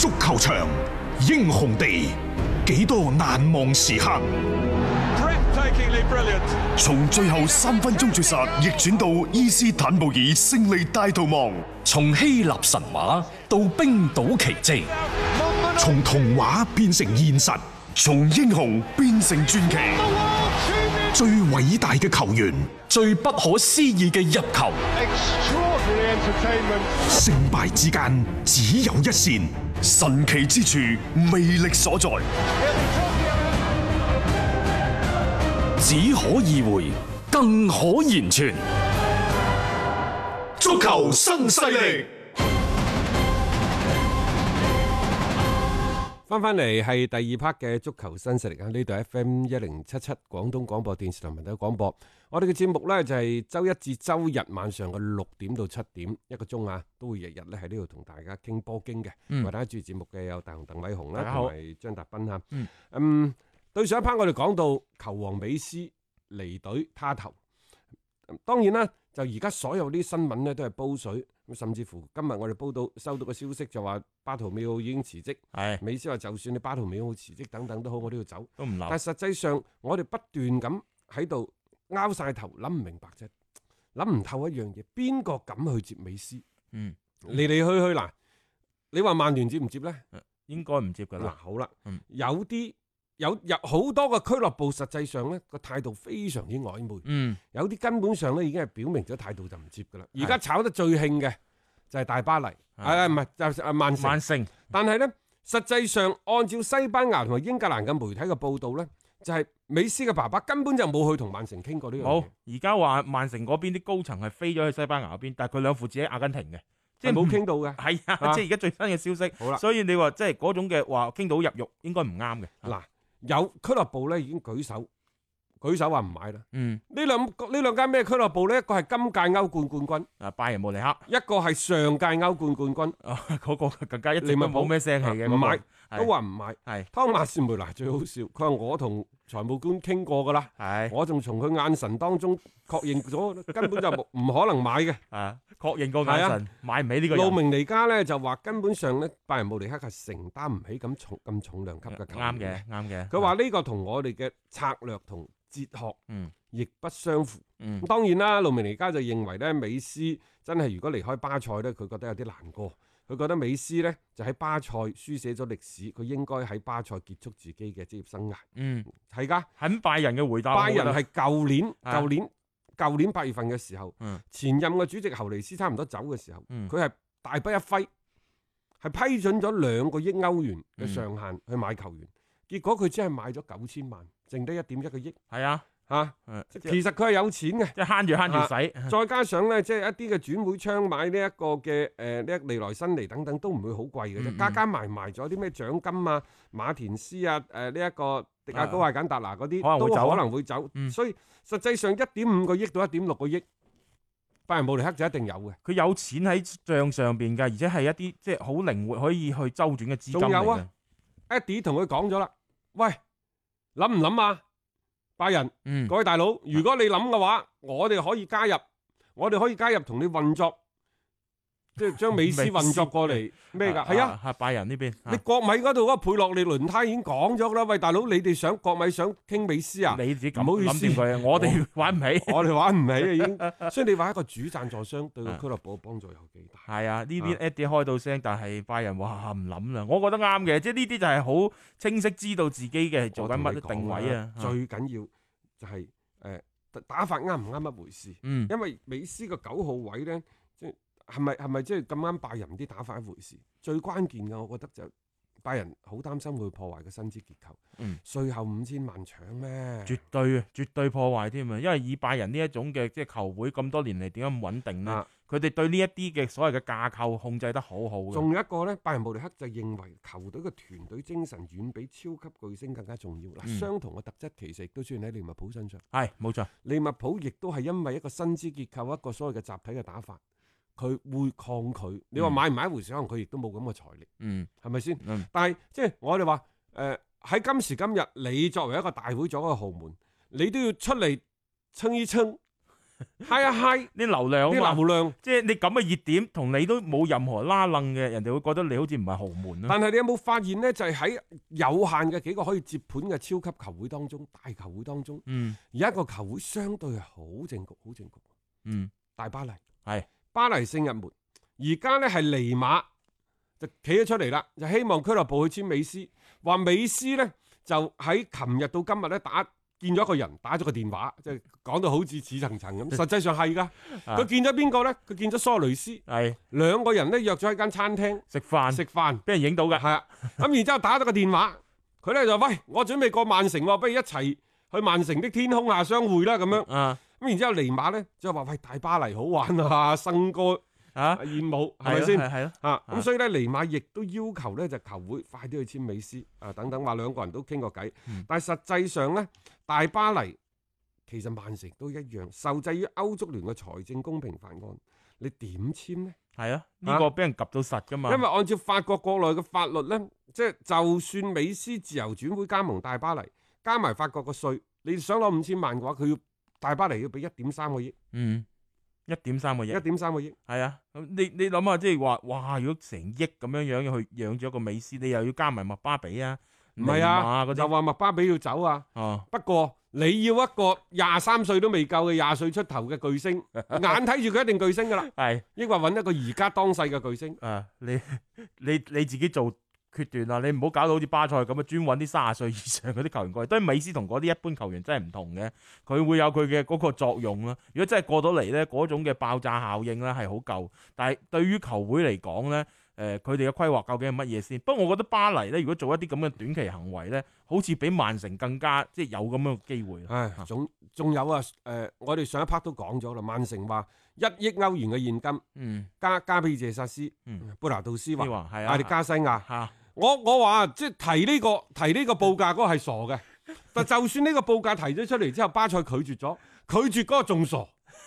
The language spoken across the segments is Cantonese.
足球場，英雄地，幾多難忘時刻。 從最後3分鐘絕殺逆轉到伊斯坦布爾勝利大逃亡， 從希臘神話到冰島奇蹟， 從童話變成現實， 從英雄變成傳奇。 最偉大嘅球員， 最不可思議嘅入球， 勝敗之間只有一線， 神奇之處魅力所在， 只可意會，更可言傳。 足球新勢力。 翻嚟係第2 part 嘅足球新勢力啊！呢度 FM1077 廣東廣播電視台文體廣播，我哋嘅節目呢，就係周一至周日晚上嘅6點到7點1個鐘啊，都會日日咧喺呢度同大家傾波經嘅。為大家主持節目嘅有大雄鄧偉雄啦，同埋張達斌啊。對上一 part 我哋講到球王美斯離隊他投，當然啦，就而家所有啲新聞呢都係煲水。甚至乎今日我哋收到個消息就話巴圖美奧已經辭職，美斯話就算你巴圖美奧辭職等等都好，我都要走，都唔留。但係實際上我哋不斷咁喺度拗晒頭，諗唔明白啫，諗唔透一樣嘢，邊個敢去接美斯？嚟嚟去去嗱，你話曼聯接唔接咧？ 應該唔接噶啦。 嗱，好啦，有好多個俱樂部實際上咧個態度非常之曖昧，有啲根本上咧已經係表明咗態度就唔接噶啦。而家炒得最興嘅就係大巴黎，唔係就係曼城。但係咧實際上按照西班牙同埋英格蘭嘅媒體嘅報道咧，就係美斯嘅爸爸根本就冇去同曼城傾過呢樣嘢。 好，而家話曼城嗰邊啲高層係飛咗去西班牙嗰邊，但係佢兩父子喺阿根廷嘅， 即係冇傾到嘅。 係啊，即係而家最新嘅消息。好啦，所以你話即係嗰種嘅話傾到入獄，應該唔啱嘅。 嗱。有俱樂部咧已經舉手話唔買啦。呢兩間咩俱樂部咧？一個係今屆歐冠冠軍， 拜仁慕尼黑； 一個係上屆歐冠冠軍， 嗰個更加一直都冇咩聲氣嘅， 唔買都話唔買。 係湯馬士梅拿最好笑，佢話我同財務官傾過噶啦，我仲從佢眼神當中確認咗，根本就唔可能買嘅。 確認過眼神，買唔起呢個人。 路明尼加咧就話根本上咧拜仁慕尼黑係承擔唔起咁重量級嘅球員。 啱嘅。 佢話呢個同我哋嘅策略同哲學亦不相符。當然啦，路明尼加就認為咧，美斯真係如果離開巴塞咧，佢覺得有啲難過。佢覺得美斯咧就喺巴塞書寫咗歷史，佢應該喺巴塞結束自己嘅職業生涯。係噶， 很拜仁嘅回答。 拜仁係舊年8月份嘅時候，前任嘅主席侯尼斯差唔多走嘅時候，佢係大筆一揮，係批准咗2個億歐元嘅上限去買球員，結果佢只係買咗9000萬，剩低1.1個億。 係啊， 其實佢係有錢嘅， 即係慳住使。 再加上咧，即係一啲嘅轉會窗買呢一個嘅呢利來新尼等等都唔會好貴嘅啫，加埋咗啲咩獎金啊、馬田斯啊、呢一個迪亞高艾簡達拿嗰啲都可能會走。所以實際上1.5個億到1.6個億，拜仁慕尼黑就一定有嘅。 佢有錢喺帳上邊㗎，而且係一啲即係好靈活可以去周轉嘅資金嚟嘅。 仲有啊，Eddie 同佢講咗啦，喂，諗唔諗啊？拜仁，各位大佬，如果你諗嘅話，我哋可以加入同你運作，即係將美斯運作過嚟咩㗎？係啊， 拜仁呢邊， 你國米嗰度嗰個佩洛利輪胎已經講咗啦。喂，大佬，你哋國米想傾美斯啊？ 你自己唔好意思， 我哋玩唔起， 我哋玩唔起啊已經。所以你話一個主贊助商對個俱樂部嘅幫助有幾大？ 係啊，呢邊 Eddie 開到聲，但係拜仁話唔諗啦。我覺得啱嘅，即係呢啲就係好清晰知道自己嘅做緊乜定位啊。 最緊要就係打法啱唔啱一回事。因為美斯個9號位咧，即係咪即係咁啱拜仁啲打法一回事？最關鍵嘅，我覺得就拜仁好擔心會破壞個薪資結構。稅後5000萬搶咩？ 絕對破壞添啊！因為以拜仁呢一種嘅即係球會咁多年嚟點解咁穩定呢？佢哋對呢一啲嘅所謂嘅架構控制得好好嘅。 仲有一個咧，拜仁慕尼黑就認為球隊嘅團隊精神遠比超級巨星更加重要。相同嘅特質其實亦都出現喺利物浦身上。 係冇錯， 利物浦亦都係因為一個薪資結構，一個所謂嘅集體嘅打法，佢會抗拒。你話買唔買一回事，可能佢亦都冇咁嘅財力。係咪先？但係即係我哋話喺今時今日，你作為一個大會咗嘅豪門，你都要出嚟撐一撐。 係啊係， 啲流量啊嘛啲流量。 即係你咁嘅熱點，同你都冇任何拉楞嘅，人哋會覺得你好似唔係豪門咯。 但係你有冇發現呢？就係喺有限嘅幾個可以接盤嘅超級球會當中，大球會當中，而一個球會相對係好正局，好正局。大巴黎係巴黎聖日門，而家呢係尼馬就企咗出嚟啦，就希望俱樂部去簽美斯，話美斯呢就喺琴日到今日咧見咗一個人，打咗個電話，即係講到好似似層層咁。實際上係㗎，佢見咗邊個咧？佢見咗蘇雷斯，係兩個人咧約咗喺間餐廳食飯， 俾人影到㗎。 係啊，咁然之後打咗個電話，佢咧就喂，我準備過曼城喎，不如一齊去曼城的天空下相會啦咁樣。咁然之後尼馬咧就話喂，大巴黎好玩啊，笙歌燕舞係咪先？係咯。咁所以咧尼馬亦都要求咧就球會快啲去簽美斯等等，話兩個人都傾過偈。但係實際上咧，大巴黎其實曼城都一樣，受制於歐足聯嘅財政公平法案，你點簽呢？ 係啊，呢個俾人及到實噶嘛。 因為按照法國國內嘅法律咧，即係就算美斯自由轉會加盟大巴黎，加埋法國嘅稅，你想攞5000萬嘅話，佢要大巴黎要俾1.3個億。 1.3個億 ，1.3個億， 係啊！你諗下，即係話，哇！如果成億咁樣去養咗個美斯，你又要加埋麥巴比啊？ 唔係啊，就話麥巴比要走啊。不過你要一個23歲都未夠嘅20歲出頭嘅巨星，眼睇住佢一定巨星噶啦。係，抑或揾一個而家當世嘅巨星。 你自己做決斷啦，你唔好搞到好似巴塞咁啊，專揾啲30歲以上嗰啲球員過嚟。當然美斯同嗰啲一般球員真係唔同嘅，佢會有佢嘅嗰個作用啦。如果真係過到嚟咧，嗰種嘅爆炸效應咧係好夠。但係對於球會嚟講咧，佢哋嘅規劃究竟係乜嘢先？不過我覺得巴黎咧，如果做一啲咁嘅短期行為咧，好似比曼城更加即係有咁樣嘅機會。 仲有啊，我哋上一 part 都講咗啦，曼城話1億歐元嘅現金，加俾謝薩斯、貝拿杜斯華、艾力加西亞。我話即係提呢個報價嗰個係傻嘅，但就算呢個報價提咗出嚟之後，巴塞拒絕咗，拒絕嗰個仲傻。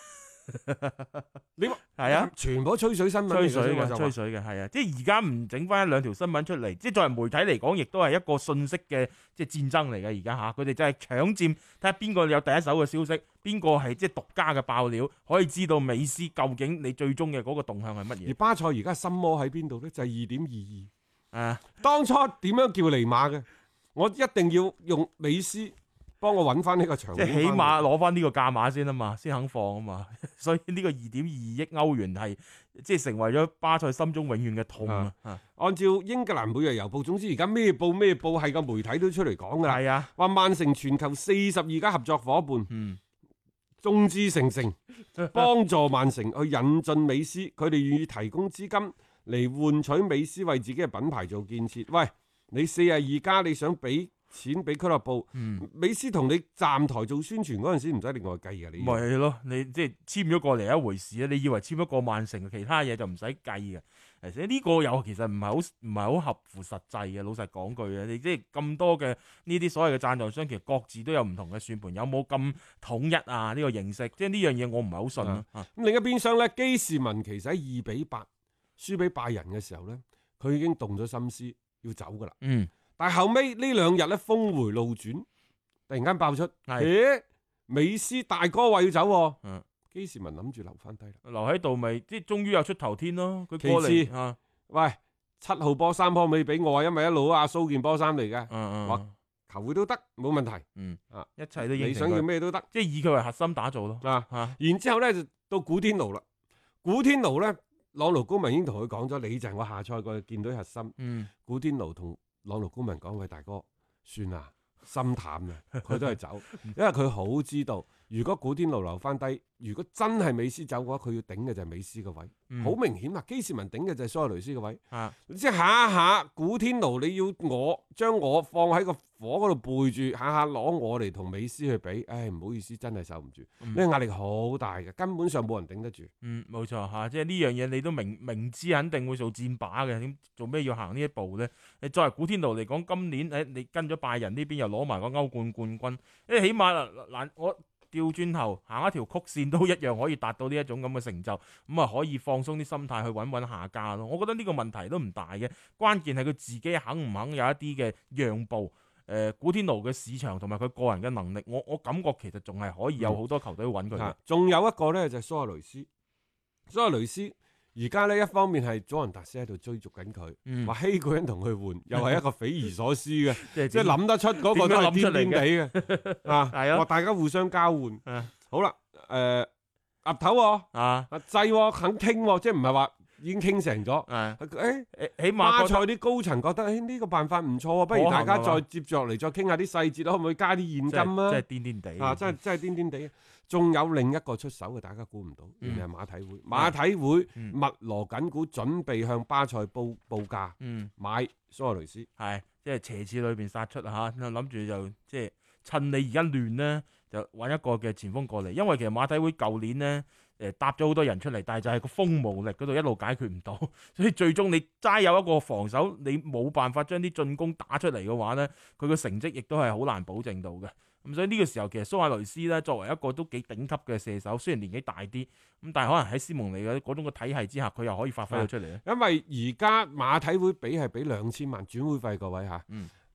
你係啊，全部吹水新聞，吹水嘅係啊，即係而家唔整翻1-2條新聞出嚟，即係作為媒體嚟講，亦都係一個信息嘅即係戰爭嚟嘅。而家佢哋真係搶佔，睇下邊個有第一手嘅消息，邊個係即係獨家嘅爆料，可以知道美斯究竟你最終嘅嗰個動向係乜嘢。 而巴塞而家心魔喺邊度咧？就係2.22。當初點樣叫尼馬嘅？我一定要用美斯幫我揾翻呢個場， 即係起碼攞翻呢個價碼先啊嘛，先肯放啊嘛。所以呢個2.2億歐元係即係成為咗巴塞心中永遠嘅痛啊！ 按照英格蘭每日郵報，總之而家咩報係個媒體都出嚟講噶啦。係啊，話曼城全球42家合作伙伴，眾志成城，幫助曼城去引進美斯，佢哋願意提供資金嚟換取美斯為自己嘅品牌做建設。喂，你42家你想俾錢俾俱樂部，美斯同你站台做宣傳嗰陣時唔使另外計嘅，你咪係咯？你即係簽咗過嚟一回事啊！你以為簽咗過曼城，其他嘢就唔使計嘅。而且呢個又其實唔係好合乎實際嘅。老實講句啊，你即係咁多嘅呢啲所謂嘅贊助商，其實各自都有唔同嘅算盤，有冇咁統一啊？呢個形式，即係呢樣嘢我唔係好信咯。咁另一邊廂咧，基士文其實喺2-8輸俾拜仁嘅時候咧，佢已經動咗心思要走噶啦。但係後尾呢2日咧，峰回路轉，突然間爆出，美斯大哥話要走，基士文諗住留翻低啦， 留喺度咪即係終於有出頭天咯。佢過嚟， 喂，7號波衫可唔可以俾我啊？因為一路阿蘇件波衫嚟嘅，話球會都得，冇問題。 一切都應承佢， 你想要咩都得， 即係以佢為核心打造咯。 然之後咧就到古天奴啦，古天奴咧，朗奴高文已經同佢講咗，你就係我下賽季見到核心。古天奴同朗奴高文講：喂，大哥，算啦，心淡啊，佢都係走，因為佢好知道，如果古天奴留翻低，如果真係美斯走嘅話，佢要頂嘅就係美斯嘅位，好明顯啊！基士文頂嘅就係蘇亞雷斯嘅位，即係下下古天奴你要我將我放喺個火嗰度背住，下下攞我嚟同美斯去比，唉，唔好意思，真係受唔住，呢個壓力好大嘅，根本上冇人頂得住。 冇錯嚇，即係呢樣嘢你都明知肯定會做戰靶嘅，點做咩要行呢一步咧？你作為古天奴嚟講，今年你跟咗拜仁呢邊又攞埋個歐冠冠軍，起碼嗱我調轉頭行一條曲線都一樣可以達到呢一種咁嘅成就，咁啊可以放鬆啲心態去穩下家咯。我覺得呢個問題都唔大嘅，關鍵係佢自己肯唔肯有一啲嘅讓步。 古天奴嘅市場同埋佢個人嘅能力，我感覺其實仲係可以有好多球隊揾佢嘅。 仲有一個咧就係蘇亞雷斯，蘇亞雷斯而家呢，一方面係祖雲達斯喺度追逐緊佢，話希古人同佢換，又係一個匪夷所思嘅，即係諗得出嗰個都係癲癲地嘅啊！係啊，大家互相交換。好啦，岌頭制肯傾，即係唔係話已經傾成咗？起碼巴塞啲高層覺得呢個辦法唔錯，不如大家再接著嚟再傾下啲細節，可唔可以加啲現金啊？ 真係癲癲地啊！真係癲癲地。仲有另一個出手嘅，大家估唔到，原來係馬體會。馬體會密鑼緊鼓，準備向巴塞報價，買蘇亞雷斯。 係即係斜刺裏邊殺出嚇，諗住就即係趁你而家亂呢，就揾一個嘅前鋒過嚟。因為其實馬體會舊年呢，搭咗好多人出嚟，但係就係個鋒無力嗰度一路解決唔到，所以最終你齋有一個防守，你冇辦法將啲進攻打出嚟嘅話呢，佢個成績亦都係好難保證到嘅。咁所以呢個時候其實蘇亞雷斯咧作為一個都幾頂級嘅射手，雖然年紀大啲，咁但係可能喺斯蒙尼嘅嗰種嘅體系之下，佢又可以發揮到出嚟咧。 因為而家馬體會係俾2000萬轉會費，各位嚇。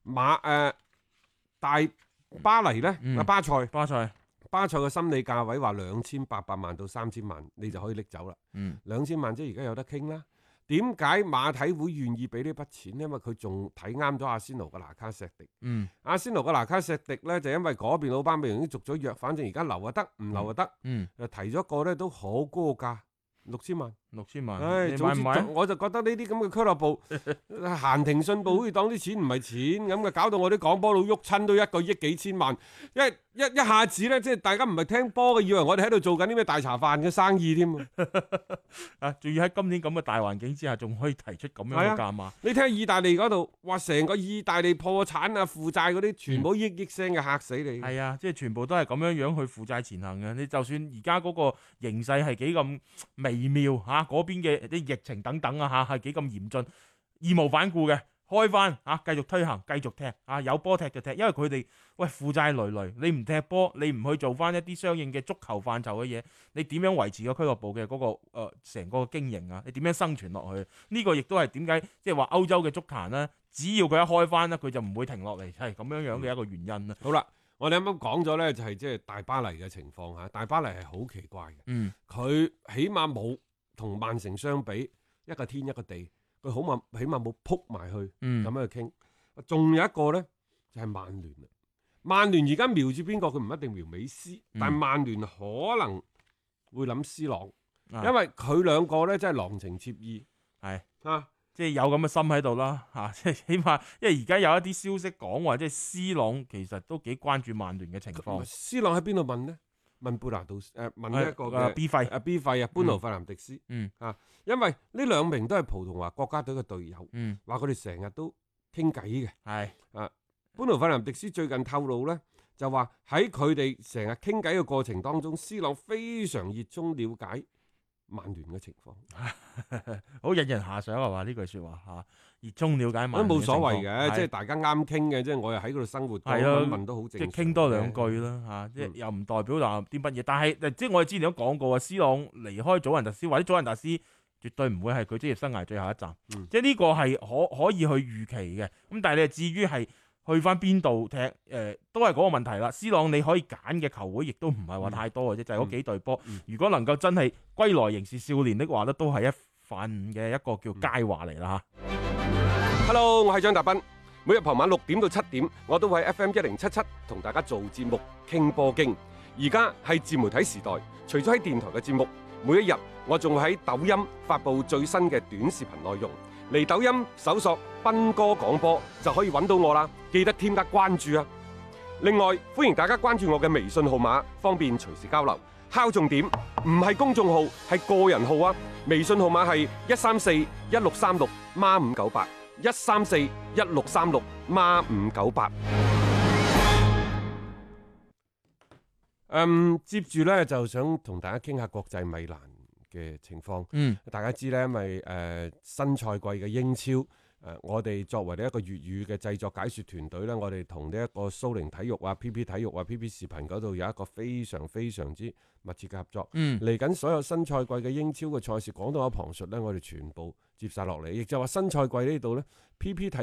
大巴黎咧，巴塞嘅心理價位話2800萬到3000萬，你就可以拎走啦。2000萬即係而家有得傾啦。點解馬體會願意俾呢筆錢呢？因為佢仲睇啱咗阿仙奴嘅拿卡錫迪。阿仙奴嘅拿卡錫迪呢，就因為嗰邊老班美容已經續咗約，反正而家留就得，唔留就得。就提咗個呢都好高嘅價，6000萬。 6000萬， 唉， 你買唔買？ 我就覺得呢啲咁嘅俱樂部閒庭信步，好似當啲錢唔係錢咁嘅，搞到我啲講波佬喐親都1個億幾千萬，一下子咧，即係大家唔係聽波嘅，以為我哋喺度做緊啲咩大茶飯嘅生意添啊！仲要喺今年咁嘅大環境之下，仲可以提出咁樣嘅價碼。 你睇下意大利嗰度，哇！成個意大利破產啊、負債嗰啲，全部億億聲嘅，嚇死你。 係啊，即係全部都係咁樣樣去負債前行嘅。你就算而家嗰個形勢係幾咁微妙嚇。嗰邊嘅啲疫情等等啊嚇，係幾咁嚴峻，義無反顧嘅開翻嚇，繼續推行，繼續踢啊，有波踢就踢，因為佢哋負債累累，你唔踢波，你唔去做翻一啲相應嘅足球範疇嘅嘢，你點樣維持個俱樂部嘅嗰個成個經營啊？你點樣生存落去？呢個亦都係點解即係話歐洲嘅足壇咧，只要佢一開翻咧，佢就唔會停落嚟，係咁樣樣嘅一個原因啦。 好啦。我哋啱啱講咗咧，就係即係大巴黎嘅情況嚇，大巴黎係好奇怪嘅，佢起碼冇同曼城相比，一個天一個地，佢起碼冇撲埋去咁樣去傾。仲有一個咧就係曼聯啦，曼聯而家瞄住邊個？佢唔一定瞄美斯，但係曼聯可能會諗 C 朗，因為佢兩個咧真係郎情妾意， 係啊。即係有咁嘅心喺度啦，嚇！即係起碼，因為而家有一啲消息講話，即係 C 朗其實都幾關注曼聯嘅情況。 C 朗喺邊度問呢？問貝拿度問一個嘅 B 費 B 費啊，班奴費南迪斯。因為呢兩名都係葡萄牙國家隊嘅隊友，話佢哋成日都傾偈嘅。係班奴費南迪斯最近透露咧，就話喺佢哋成日傾偈嘅過程當中，C 朗非常熱衷了解曼聯嘅情況， 好引人遐想係嘛？呢句説話嚇，熱衷了解曼聯都冇所謂嘅，即係大家啱傾嘅，即係我又喺嗰度生活，問都好正常， 即係傾多兩句啦嚇，即係又唔代表話啲乜嘢。但係即係我哋之前都講過啊，C 朗離開祖雲達斯或者祖雲達斯絕對唔會係佢職業生涯最後一站，即係呢個係可以去預期嘅。咁但係你至於係去翻邊度踢？都係嗰個問題啦。C 朗你可以揀嘅球會，亦都唔係話太多嘅啫，就係嗰幾隊波。如果能夠真係歸來仍是少年的話咧，都係一份嘅一個叫佳話嚟啦嚇。 Hello， 我係張達斌。每日傍晚6點到7點，我都會喺 FM 1077同大家做節目傾波經。而家係自媒體時代，除咗喺電台嘅節目，每一日我仲會喺抖音發布最新嘅短視頻內容。嚟抖音搜索斌哥廣播就可以揾到我啦，記得添加關注啊！另外歡迎大家關注我嘅微信號碼，方便隨時交流。敲重點，唔係公眾號，係個人號啊！微信號碼係1341636孖598 1341636孖598。接住咧就想同大家傾下國際米蘭嘅情況。大家知咧，因為新賽季嘅英超，我哋作為呢一個粵語嘅製作解說團隊咧，我哋同呢一個蘇寧體育啊、PP 體育啊、PP 視頻嗰度有一個非常非常之密切嘅合作。嚟緊所有新賽季嘅英超嘅賽事，講到有旁述咧，我哋全部接晒落嚟，亦就話新賽季呢度咧，PP 體育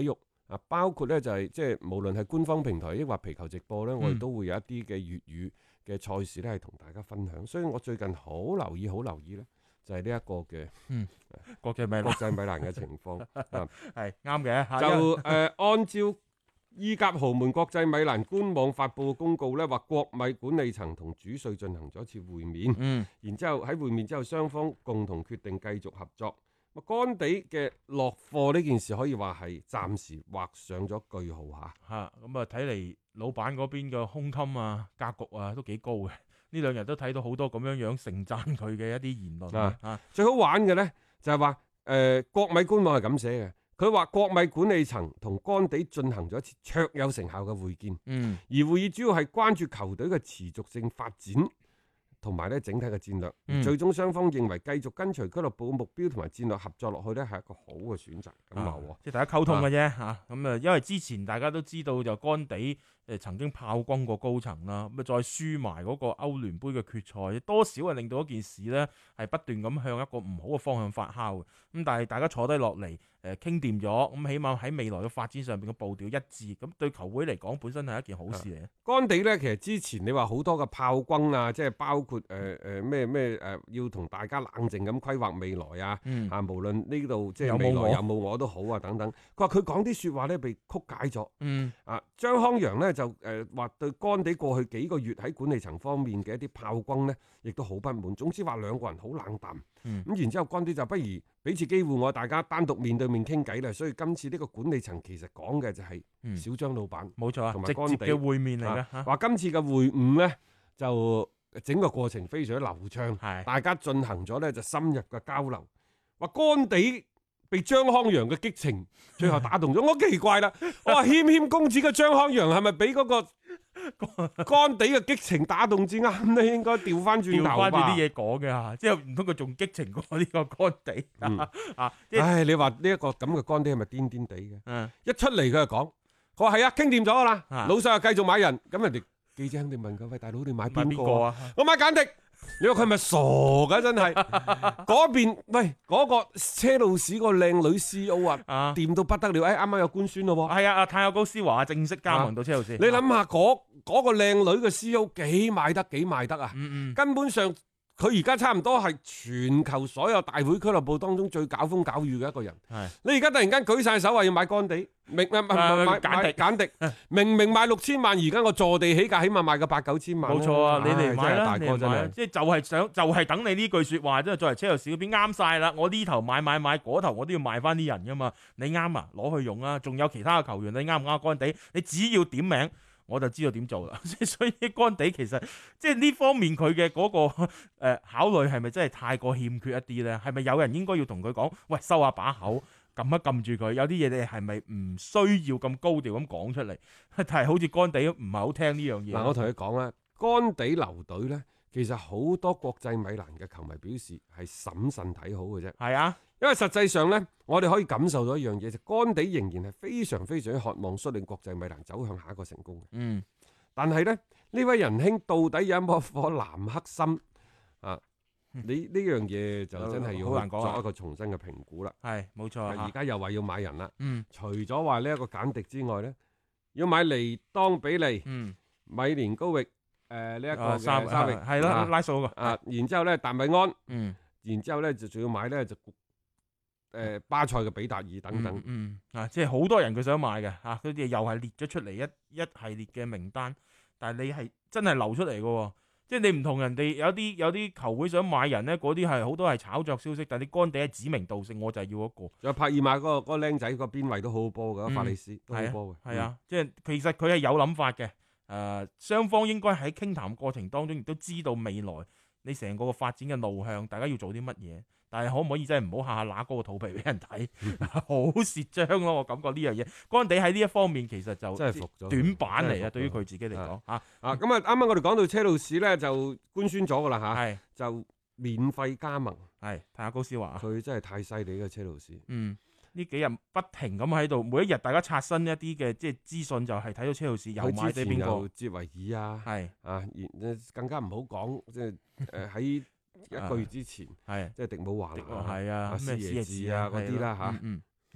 啊，包括咧就係即係無論係官方平台抑或皮球直播咧，我哋都會有一啲嘅粵語嘅賽事咧係同大家分享。所以我最近好留意咧，就係呢一個嘅國際米蘭嘅情況啊， 係啱嘅。 就按照意甲豪門國際米蘭官網發布嘅公告咧，話國米管理層同主帥進行咗一次會面，然之後喺會面之後，雙方共同決定繼續合作。干地嘅落課呢件事可以話係暫時畫上咗句號嚇。 咁啊睇嚟老闆嗰邊嘅胸襟啊、格局啊都幾高嘅。呢兩日都睇到好多咁樣盛讚佢嘅一啲言論最好玩嘅呢，就係話國米官網係咁寫嘅，佢話國米管理層同干地進行咗一次卓有成效嘅會見，而會議主要係關注球隊嘅持續性發展。同埋咧整體嘅戰略，最終雙方認為繼續跟隨俱樂部目標同埋戰略合作落去咧係一個好嘅選擇。 即係大家溝通嘅啫嚇。咁因為之前大家都知道就干地曾經炮轟過高層啦，咁再輸埋嗰個歐聯杯嘅決賽，多少係令到一件事咧係不斷咁向一個唔好嘅方向發酵嘅。咁但係大家坐低落嚟傾掂咗，咁起碼喺未來嘅發展上邊嘅步調一致，咁對球會嚟講本身係一件好事嚟嘅。 干地咧其實之前你話好多嘅炮轟啊，即係包括要同大家冷靜咁規劃未來啊，無論呢度即係未來有冇我都好啊等等。佢話佢講啲説話咧被曲解咗。張康陽咧就話對干地過去幾個月喺管理層方面嘅一啲炮轟咧，亦都好不滿。總之話兩個人好冷淡。咁然之後干地就不如俾次機會我大家單獨面對面傾偈啦。所以今次呢個管理層其實講嘅就係小張老闆， 冇錯啊， 同埋干地直接嘅會面嚟嘅。 話今次嘅會晤咧就整個過程非常之流暢，大家進行咗咧就深入嘅交流。話干地被張康陽嘅激情最後打動咗，我奇怪啦，我話謙謙公子嘅張康陽係咪俾嗰個干地嘅激情打動至啱咧？應該調翻轉頭吧。調翻啲嘢講嘅嚇，即係唔通佢仲激情過呢個干地你話呢一個咁嘅干地係咪癲癲地嘅？一出嚟佢就講，佢話係啊，傾掂咗噶啦，老細又繼續買人，咁人哋記者肯定問佢：喂，大佬你買邊個啊？我買簡迪。你話佢係咪傻㗎？真係嗰邊喂嗰個車路士個靚女 CEO 啊，掂到不得了！啱啱有官宣咯喎。 係啊，泰亞高斯華正式加盟到車路士。 你諗下嗰個靚女嘅 CEO 幾賣得啊？根本上佢而家差唔多係全球所有大會俱樂部當中最搞風搞雨嘅一個人。你而家突然間舉晒手話要買干地，買簡迪，明明賣6000萬，而家我坐地起價，起碼賣個8、9千萬。 冇錯啊，你嚟買啦， 大哥真係， 即係就係等你呢句説話，即係作為車路士嗰邊啱晒啦。我呢頭買，嗰頭我都要賣翻啲人噶嘛。你啱啊，攞去用啊。仲有其他嘅球員，你啱唔啱干地？你只要點名，我就知道點做啦。所以干地其實即係呢方面佢嘅嗰個考慮係咪真係太過欠缺一啲咧？係咪有人應該要同佢講，喂，收下把口，撳一撳住佢？有啲嘢你係咪唔需要咁高調咁講出嚟？但係好似干地唔係好聽呢樣嘢。 嗱，我同你講啦，干地留隊咧，其實好多國際米蘭嘅球迷表示係審慎睇好嘅啫。係啊，因為實際上咧，我哋可以感受到一樣嘢，就干地仍然係非常非常渴望率領國際米蘭走向下一個成功嘅。但係咧，呢位仁兄到底有冇一顆藍黑心啊？你呢樣嘢就真係要作一個重新嘅評估啦。 係冇錯， 而家又話要買人啦。除咗話呢一個簡迪之外咧，要買尼當比利、米連高域、呢一個沙域係咯，拉數個然之後咧達米安，然之後咧就仲要買咧就巴塞嘅比達爾等等。 即係好多人佢想買嘅嚇，佢哋又係列咗出嚟一系列嘅名單，但係你係真係流出嚟嘅喎。即係你唔同人哋有啲球會想買人咧，嗰啲係好多係炒作消息，但係你干地係指名道姓，我就係要一個。仲有帕爾馬嗰個僆仔個邊位都好好波嘅，法利斯都好波嘅。 係啊，即係其實佢係有諗法嘅。雙方應該喺傾談過程當中亦都知道未來你成個發展嘅路向，大家要做啲乜嘢。但係可唔可以真係唔好下下揦高個肚皮俾人睇，好蝕章咯！我感覺呢樣嘢，干地喺呢一方面其實就真係服咗短板嚟啊！對於佢自己嚟講咁啱啱我哋講到車路士咧，就官宣咗噶啦嚇，就免費加盟。 係睇下高斯華， 佢真係太犀利嘅車路士。 呢幾日不停咁喺度，每一日大家刷新一啲嘅即係資訊，就係睇到車路士又買咗邊個？哲維爾啊，更加唔好講，即係喺一個月之前，即係迪姆華拿、咩斯耶治啊嗰啲啦嚇。咁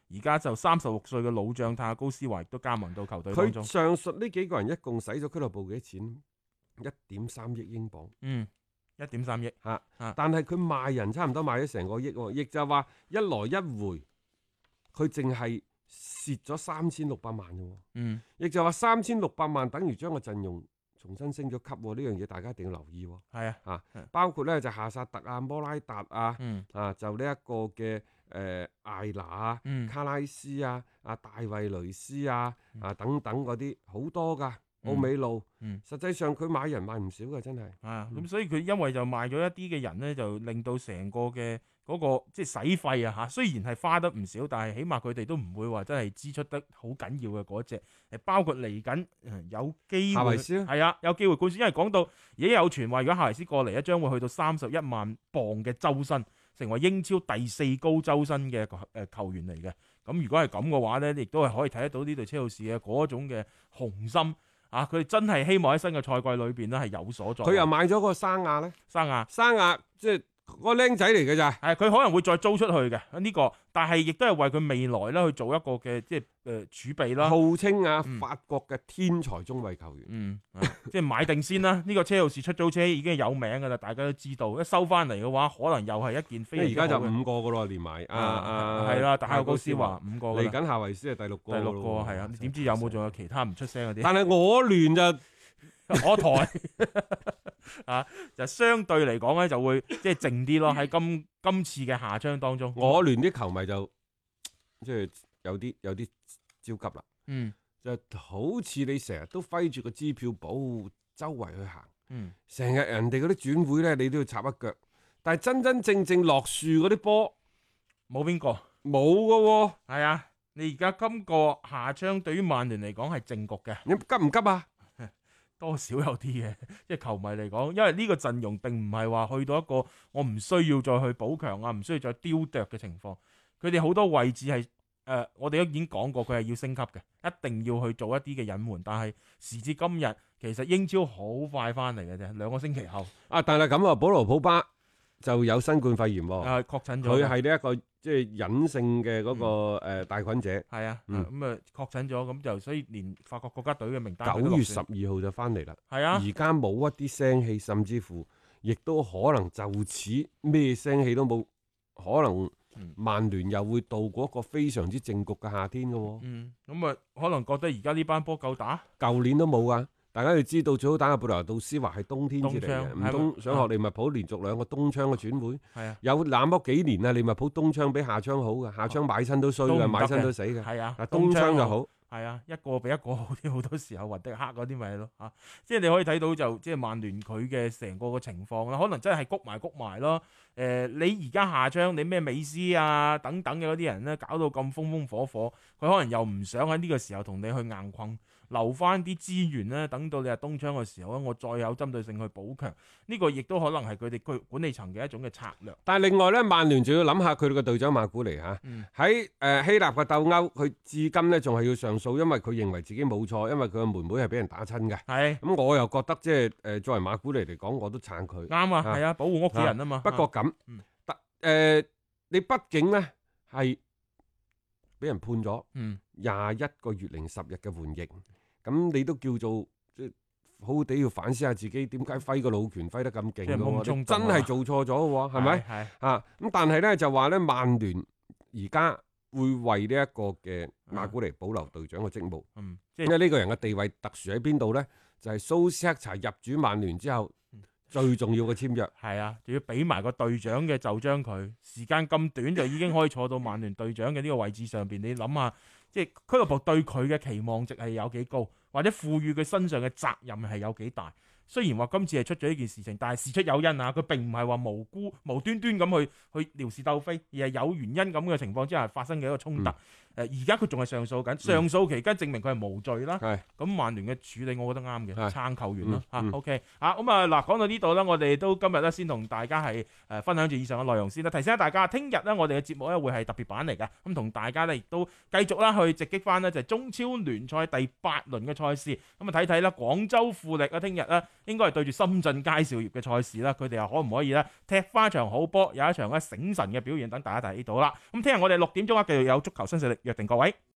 而家就36歲嘅老將泰亞高斯華亦都加盟到球隊當佢中。 上述呢幾個人一共使咗俱樂部幾多錢？1.3億英鎊。 1.3億嚇， 啊但係佢賣人差唔多賣咗成個億喎，亦就係話一來一回，佢淨係蝕咗3600萬嘅喎。亦就話3600萬等於將個陣容重新升咗級喎，呢樣嘢大家一定要留意喎。 係啊， 包括咧就夏薩特啊、摩拉達啊，就呢一個嘅艾拿啊、卡拉斯啊、大衛雷斯啊、等等嗰啲好多㗎。奧美路，實際上佢買人買唔少嘅，真係。 咁所以佢因為就賣咗一啲嘅人咧，就令到成個嘅嗰個即係使費啊嚇，雖然係花得唔少，但係起碼佢哋都唔會話真係支出得好緊要嘅嗰隻。包括嚟緊有機會， 夏維斯係啊，有機會冠選，因為講到已經有傳話，如果夏維斯過嚟咧，將會去到31萬磅嘅周薪，成為英超第4高周薪嘅球員嚟嘅。咁如果係咁嘅話咧，亦都係可以睇得到呢隊車路士嘅嗰種嘅雄心。佢哋真係希望喺新嘅賽季裏邊咧係有所作為。 佢又買咗個生亞咧，生亞即係個僆仔嚟嘅咋。 係佢可能會再租出去嘅呢個，但係亦都係為佢未來咧去做一個嘅即係儲備啦。 號稱法國嘅天才中衞球員。 即係買定先啦。呢個車路士出租車已經係有名㗎啦，大家都知道。一收翻嚟嘅話，可能又係一件非常之好嘅。 而家就5個㗎咯，連埋係啦，泰亞高斯華5個。 嚟緊夏維斯係第6個。 第6個係啊，你點知有冇仲有其他唔出聲嗰啲？ 但係我聯就我台就相對嚟講咧就會即係靜啲咯。喺今次嘅夏窗當中， 我聯啲球迷就即係有啲焦急啦。就好似你成日都揮住個支票簿周圍去行，成日人哋嗰啲轉會咧，你都要插一腳。但係真真正正落樹嗰啲波， 冇邊個冇噶喎。 係啊，你而家今個夏窗對於曼聯嚟講係正局嘅。 你急唔急啊？ 多少有啲嘅，即係球迷嚟講，因為呢個陣容並唔係話去到一個我唔需要再去補強啊，唔需要再雕琢嘅情況。佢哋好多位置係我哋都已經講過，佢係要升級嘅，一定要去做一啲嘅隱瞞。但係時至今日，其實英超好快翻嚟嘅啫，2個星期後。 但係咁啊，保羅普巴就有新冠肺炎喎。 確診咗。佢係呢一個即係隱性嘅嗰個帶菌者。 係啊，咁確診咗，咁就所以連法國國家隊嘅名單 9月12號就翻嚟啦。 係啊， 而家冇一啲聲氣，甚至乎亦都可能就此咩聲氣都冇，可能。曼聯又會度過一個非常之正局嘅夏天嘅喎。 咁可能覺得而家呢班波夠打， 舊年都冇啊！大家要知道，最好打嘅貝拿杜斯華係冬天至嚟嘅，唔通想學利物浦連續2個冬窗嘅轉會？係啊，有那麼幾年啊，利物浦冬窗比夏窗好嘅，夏窗買親都衰嘅，買親都死嘅。 係啊， 冬窗就好。 係啊，一個比一個好啲，好多時候雲迪克嗰啲咪係咯嚇，即係你可以睇到就即係曼聯佢嘅成個嘅情況啦，可能真係谷埋咯。你而家夏窗你咩美斯啊等等嘅嗰啲人咧，搞到咁風風火火，佢可能又唔想喺呢個時候同你去硬困，留翻啲資源咧，等到你係冬窗嘅時候咧，我再有針對性去補強。呢個亦都可能係佢哋管理層嘅一種嘅策略。 但係另外咧，曼聯仲要諗下佢哋嘅隊長馬古尼嚇，喺希臘嘅鬥歐，佢至今咧仲係要上訴，因為佢認為自己冇錯，因為佢嘅妹妹係俾人打親嘅。係咁，我又覺得即係作為馬古尼嚟講，我都撐佢。啱啊，係啊，保護屋企人啊嘛。不過咁，你畢竟咧係俾人判咗21個月零10日嘅緩刑，咁你都叫做即係好好地要反思下自己點解揮個老拳揮得咁勁嘅，真係做錯咗嘅喎，係咪？係啊，咁但係咧就話咧，曼聯而家會為呢一個嘅馬古尼保留隊長嘅職務，因為呢個人嘅地位特殊喺邊度咧？就係蘇斯克查入主曼聯之後。最重要嘅簽約係啊，仲要俾埋個隊長嘅就將佢，時間咁短就已經可以坐到曼聯隊長嘅呢個位置上邊。你諗下，即係俱樂部對佢嘅期望值係有幾高，或者賦予佢身上嘅責任係有幾大。雖然話今次係出咗呢件事情，但係事出有因啊，佢並唔係話無端端咁去撩事鬥非，而係有原因咁嘅情況之下發生嘅一個衝突。而家佢仲係上訴緊，上訴期間證明佢係無罪啦。咁曼聯嘅處理我覺得啱嘅，撐球員咯嚇。OK 咁啊嗱，講到呢度啦，我哋都今日咧先同大家係分享住以上嘅內容先啦。提醒下大家，聽日咧我哋嘅節目咧會係特別版嚟嘅，咁同大家咧亦都繼續啦去直擊翻呢就係中超聯賽第8輪嘅賽事，咁啊睇睇啦廣州富力啊聽日咧應該係對住深圳佳兆業嘅賽事啦，佢哋又可唔可以咧踢翻場好波，有一場咧醒神嘅表現，等大家睇到啦。咁聽日我哋6點鐘繼續有足球新勢力，約定各位。